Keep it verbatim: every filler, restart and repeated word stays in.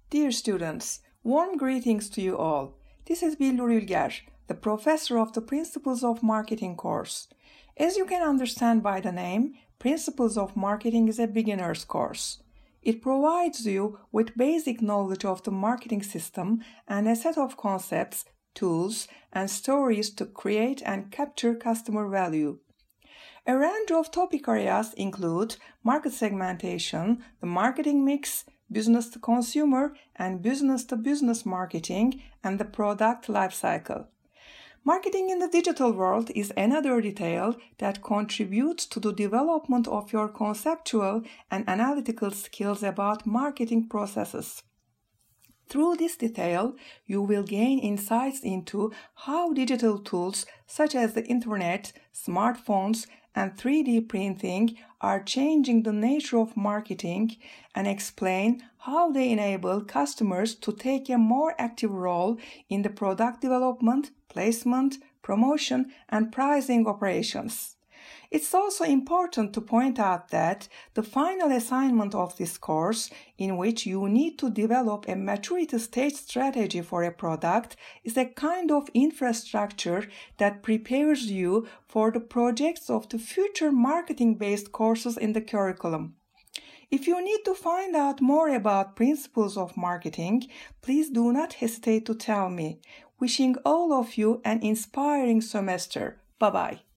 Dear students, warm greetings to you all. This is Billur Ülger, the professor of the Principles of Marketing course. As you can understand by the name, Principles of Marketing is a beginner's course. It provides you with basic knowledge of the marketing system and a set of concepts, tools, and stories to create and capture customer value. A range of topic areas include market segmentation, the marketing mix, business-to-consumer and business-to-business marketing, and the product lifecycle. Marketing in the digital world is another detail that contributes to the development of your conceptual and analytical skills about marketing processes. Through this detail, you will gain insights into how digital tools such as the internet, smartphones, and three D printing are changing the nature of marketing and explain how they enable customers to take a more active role in the product development, placement, promotion, and pricing operations. It's also important to point out that the final assignment of this course, in which you need to develop a maturity stage strategy for a product, is a kind of infrastructure that prepares you for the projects of the future marketing-based courses in the curriculum. If you need to find out more about Principles of Marketing, please do not hesitate to tell me. Wishing all of you an inspiring semester. Bye-bye.